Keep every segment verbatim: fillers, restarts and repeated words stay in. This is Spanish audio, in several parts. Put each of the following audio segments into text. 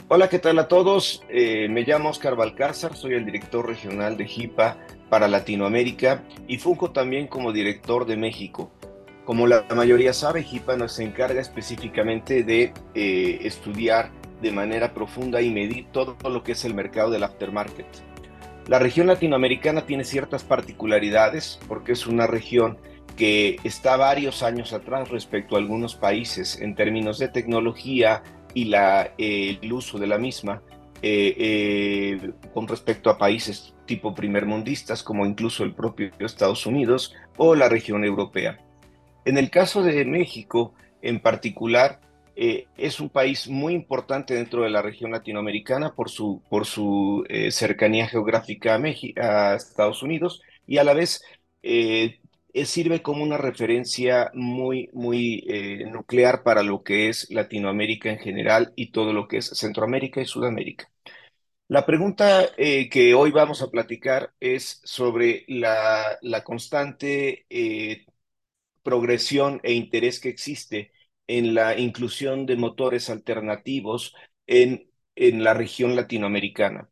Hola, ¿qué tal a todos? Eh, me llamo Oscar Balcázar, soy el director regional de HIPAA para Latinoamérica y funjo también como director de México. Como la mayoría sabe, HIPAA nos encarga específicamente de eh, estudiar de manera profunda y medir todo lo que es el mercado del aftermarket. La región latinoamericana tiene ciertas particularidades porque es una región que está varios años atrás respecto a algunos países en términos de tecnología y la, eh, el uso de la misma eh, eh, con respecto a países tipo primermundistas como incluso el propio Estados Unidos o la región europea. En el caso de México, en particular, eh, es un país muy importante dentro de la región latinoamericana por su, por su eh, cercanía geográfica a, México, a Estados Unidos y a la vez eh, eh, sirve como una referencia muy, muy eh, nuclear para lo que es Latinoamérica en general y todo lo que es Centroamérica y Sudamérica. La pregunta eh, que hoy vamos a platicar es sobre la, la constante eh, progresión e interés que existe en la inclusión de motores alternativos en, en la región latinoamericana.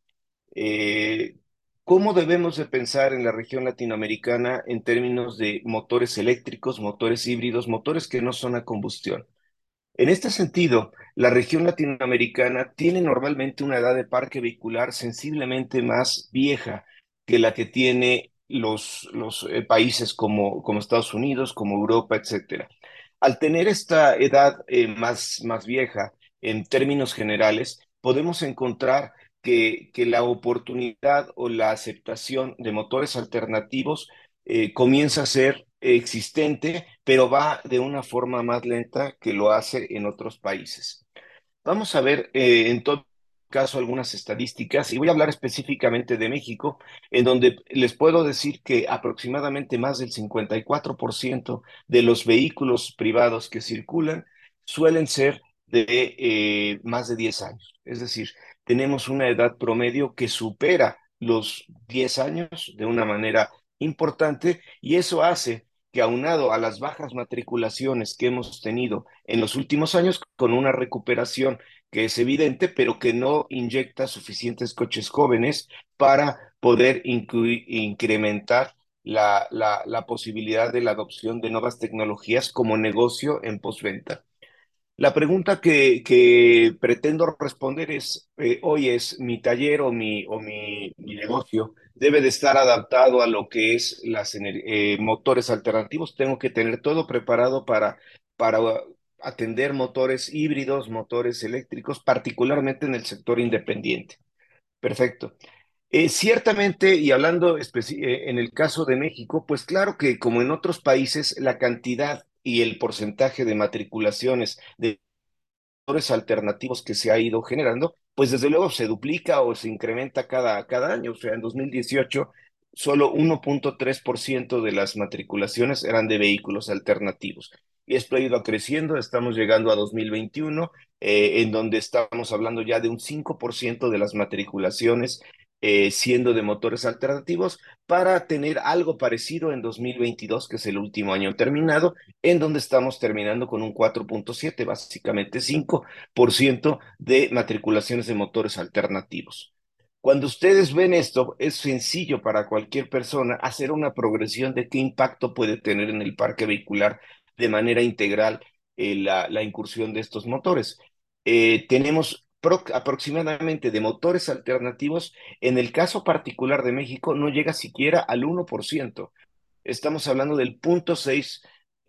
Eh, ¿Cómo debemos de pensar en la región latinoamericana en términos de motores eléctricos, motores híbridos, motores que no son a combustión? En este sentido, la región latinoamericana tiene normalmente una edad de parque vehicular sensiblemente más vieja que la que tiene los, los eh, países como, como Estados Unidos, como Europa, etcétera. Al tener esta edad eh, más, más vieja, en términos generales, podemos encontrar que, que la oportunidad o la aceptación de motores alternativos eh, comienza a ser existente, pero va de una forma más lenta que lo hace en otros países. Vamos a ver eh, en todo caso algunas estadísticas y voy a hablar específicamente de México, en donde les puedo decir que aproximadamente más del cincuenta y cuatro por ciento de los vehículos privados que circulan suelen ser de eh, más de diez años. Es decir, tenemos una edad promedio que supera los diez años de una manera importante y eso hace que aunado a las bajas matriculaciones que hemos tenido en los últimos años, con una recuperación que es evidente, pero que no inyecta suficientes coches jóvenes para poder incluir, incrementar la, la, la posibilidad de la adopción de nuevas tecnologías como negocio en postventa. La pregunta que, que pretendo responder es, eh, hoy es, ¿mi taller o mi, o mi, mi negocio debe de estar adaptado a lo que es las ener- eh, motores alternativos? Tengo que tener todo preparado para, para atender motores híbridos, motores eléctricos, particularmente en el sector independiente. Perfecto. Eh, ciertamente, y hablando especi- eh, en el caso de México, pues claro que como en otros países, la cantidad y el porcentaje de matriculaciones de motores alternativos que se ha ido generando, pues desde luego se duplica o se incrementa cada, cada año. O sea, en dos mil dieciocho solo uno punto tres por ciento de las matriculaciones eran de vehículos alternativos. Y esto ha ido creciendo, estamos llegando a dos mil veintiuno, eh, en donde estamos hablando ya de un cinco por ciento de las matriculaciones eh, siendo de motores alternativos, para tener algo parecido en dos mil veintidós, que es el último año terminado, en donde estamos terminando con un cuatro punto siete, básicamente cinco por ciento de matriculaciones de motores alternativos. Cuando ustedes ven esto, es sencillo para cualquier persona hacer una progresión de qué impacto puede tener en el parque vehicular de manera integral eh, la, la incursión de estos motores. Eh, tenemos pro- aproximadamente de motores alternativos, en el caso particular de México, no llega siquiera al uno por ciento. Estamos hablando del punto seis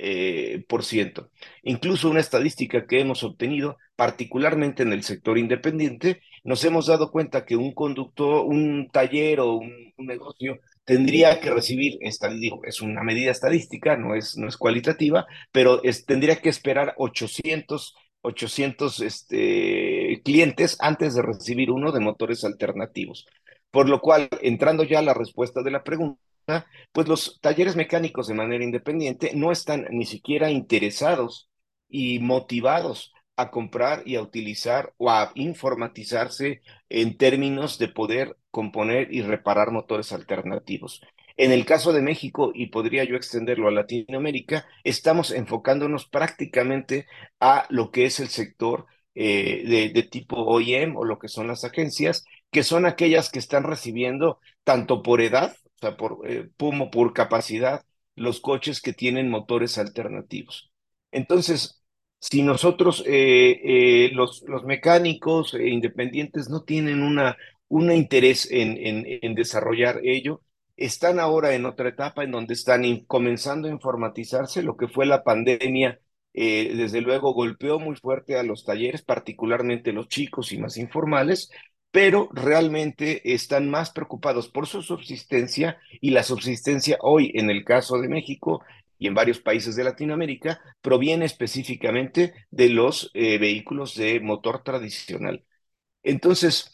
eh, por ciento. Incluso una estadística que hemos obtenido, particularmente en el sector independiente, nos hemos dado cuenta que un conductor, un taller o un, un negocio tendría que recibir, esta, digo, es una medida estadística, no es, no es cualitativa, pero es, tendría que esperar ochocientos, ochocientos este, clientes antes de recibir uno de motores alternativos. Por lo cual, entrando ya a la respuesta de la pregunta, pues los talleres mecánicos de manera independiente no están ni siquiera interesados y motivados a comprar y a utilizar o a informatizarse en términos de poder componer y reparar motores alternativos. En el caso de México, y podría yo extenderlo a Latinoamérica, estamos enfocándonos prácticamente a lo que es el sector eh, de, de tipo O E M o lo que son las agencias, que son aquellas que están recibiendo tanto por edad, o sea, por, eh, como por capacidad, los coches que tienen motores alternativos. Entonces, si nosotros, eh, eh, los, los mecánicos eh, independientes no tienen una, un interés en, en, en desarrollar ello, están ahora en otra etapa en donde están in- comenzando a informatizarse. Lo que fue la pandemia, eh, desde luego golpeó muy fuerte a los talleres, particularmente los chicos y más informales, pero realmente están más preocupados por su subsistencia, y la subsistencia hoy, en el caso de México y en varios países de Latinoamérica, proviene específicamente de los eh, vehículos de motor tradicional. Entonces,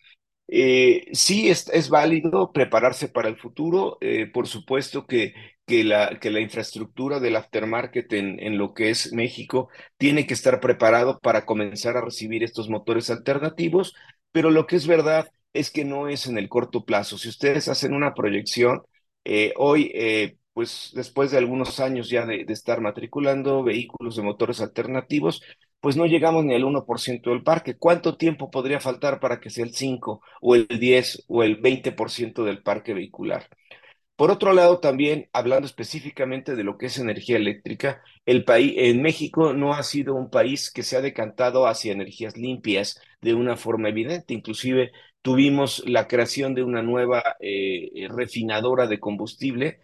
eh, sí es, es válido prepararse para el futuro. Eh, por supuesto que, que, la, que la infraestructura del aftermarket en, en lo que es México tiene que estar preparado para comenzar a recibir estos motores alternativos, pero lo que es verdad es que no es en el corto plazo. Si ustedes hacen una proyección, eh, hoy, eh, pues después de algunos años ya de, de estar matriculando vehículos de motores alternativos, pues no llegamos ni al uno por ciento del parque. ¿Cuánto tiempo podría faltar para que sea el cinco o el diez o el veinte por ciento del parque vehicular? Por otro lado, también hablando específicamente de lo que es energía eléctrica, el país, en México no ha sido un país que se ha decantado hacia energías limpias de una forma evidente. Inclusive tuvimos la creación de una nueva eh, refinadora de combustible,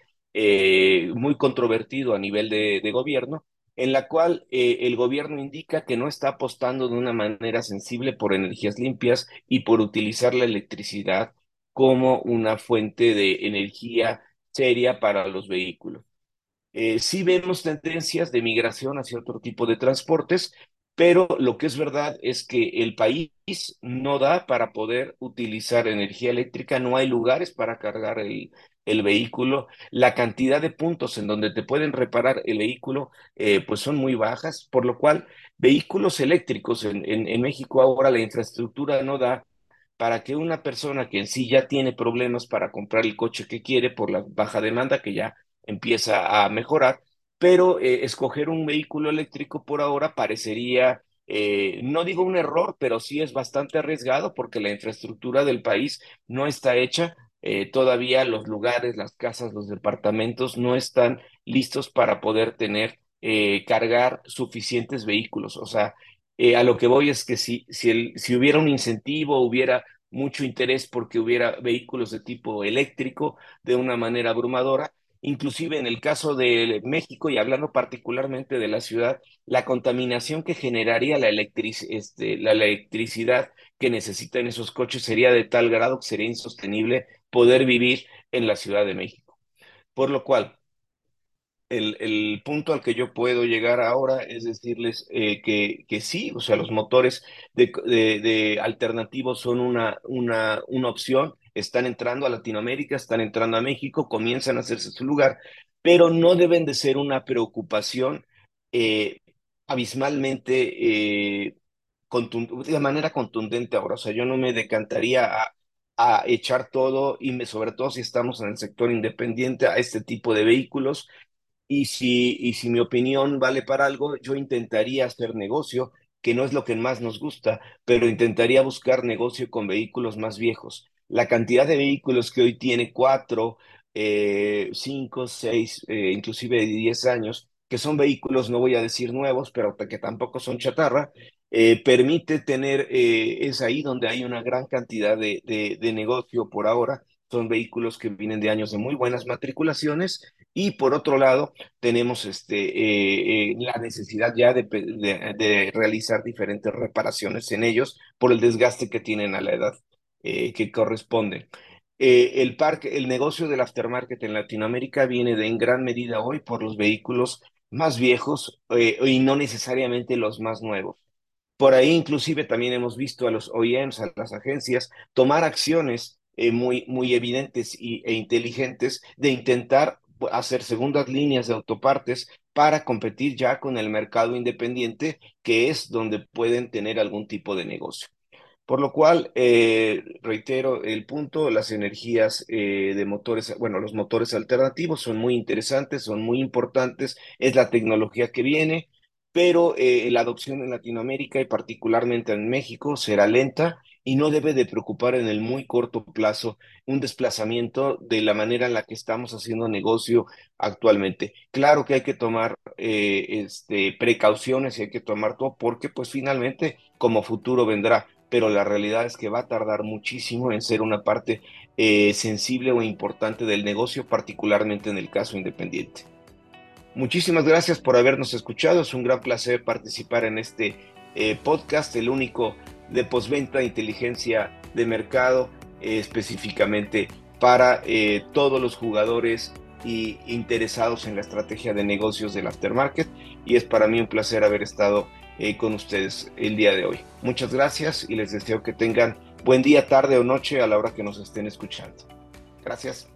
eh, muy controvertido a nivel de, de gobierno, en la cual eh, el gobierno indica que no está apostando de una manera sensible por energías limpias y por utilizar la electricidad como una fuente de energía seria para los vehículos. Eh, sí vemos tendencias de migración hacia otro tipo de transportes, pero lo que es verdad es que el país no da para poder utilizar energía eléctrica, no hay lugares para cargar el, el vehículo, la cantidad de puntos en donde te pueden reparar el vehículo eh, pues son muy bajas, por lo cual vehículos eléctricos en, en, en México ahora la infraestructura no da para que una persona que en sí ya tiene problemas para comprar el coche que quiere por la baja demanda que ya empieza a mejorar, pero eh, escoger un vehículo eléctrico por ahora parecería, eh, no digo un error, pero sí es bastante arriesgado porque la infraestructura del país no está hecha. Eh, todavía los lugares, las casas, los departamentos no están listos para poder tener, eh, cargar suficientes vehículos. O sea, eh, a lo que voy es que si, si, el, si hubiera un incentivo, hubiera mucho interés porque hubiera vehículos de tipo eléctrico de una manera abrumadora. Inclusive en el caso de México, y hablando particularmente de la ciudad, la contaminación que generaría la, electric, este, la electricidad que necesitan esos coches sería de tal grado que sería insostenible poder vivir en la Ciudad de México. Por lo cual, el, el punto al que yo puedo llegar ahora es decirles eh, que, que sí, o sea, los motores de, de, de alternativos son una, una, una opción, están entrando a Latinoamérica, están entrando a México, comienzan a hacerse su lugar, pero no deben de ser una preocupación eh, abismalmente, eh, contun- de manera contundente ahora. O sea, yo no me decantaría a, a echar todo, y me, sobre todo si estamos en el sector independiente, a este tipo de vehículos, y si, y si mi opinión vale para algo, yo intentaría hacer negocio, que no es lo que más nos gusta, pero intentaría buscar negocio con vehículos más viejos. La cantidad de vehículos que hoy tiene cuatro, eh, cinco, seis, eh, inclusive diez años, que son vehículos, no voy a decir nuevos, pero que tampoco son chatarra, eh, permite tener, eh, es ahí donde hay una gran cantidad de, de, de negocio por ahora. Son vehículos que vienen de años de muy buenas matriculaciones, y por otro lado, tenemos este, eh, eh, la necesidad ya de, de, de, realizar diferentes reparaciones en ellos por el desgaste que tienen a la edad eh, que corresponde. Eh, el parque, el negocio del aftermarket en Latinoamérica viene de en gran medida hoy por los vehículos más viejos eh, y no necesariamente los más nuevos. Por ahí inclusive también hemos visto a los O E Ms, a las agencias, tomar acciones eh, muy, muy evidentes y, e inteligentes de intentar hacer segundas líneas de autopartes para competir ya con el mercado independiente, que es donde pueden tener algún tipo de negocio. Por lo cual, eh, reitero el punto, las energías eh, de motores, bueno, los motores alternativos son muy interesantes, son muy importantes, es la tecnología que viene, pero eh, la adopción en Latinoamérica y particularmente en México será lenta y no debe de preocupar en el muy corto plazo un desplazamiento de la manera en la que estamos haciendo negocio actualmente. Claro que hay que tomar eh, este, precauciones y hay que tomar todo porque pues finalmente como futuro vendrá, pero la realidad es que va a tardar muchísimo en ser una parte eh, sensible o importante del negocio, particularmente en el caso independiente. Muchísimas gracias por habernos escuchado. Es un gran placer participar en este eh, podcast, el único de postventa e inteligencia de mercado, eh, específicamente para eh, todos los jugadores y interesados en la estrategia de negocios del aftermarket. Y es para mí un placer haber estado eh, con ustedes el día de hoy. Muchas gracias y les deseo que tengan buen día, tarde o noche a la hora que nos estén escuchando. Gracias.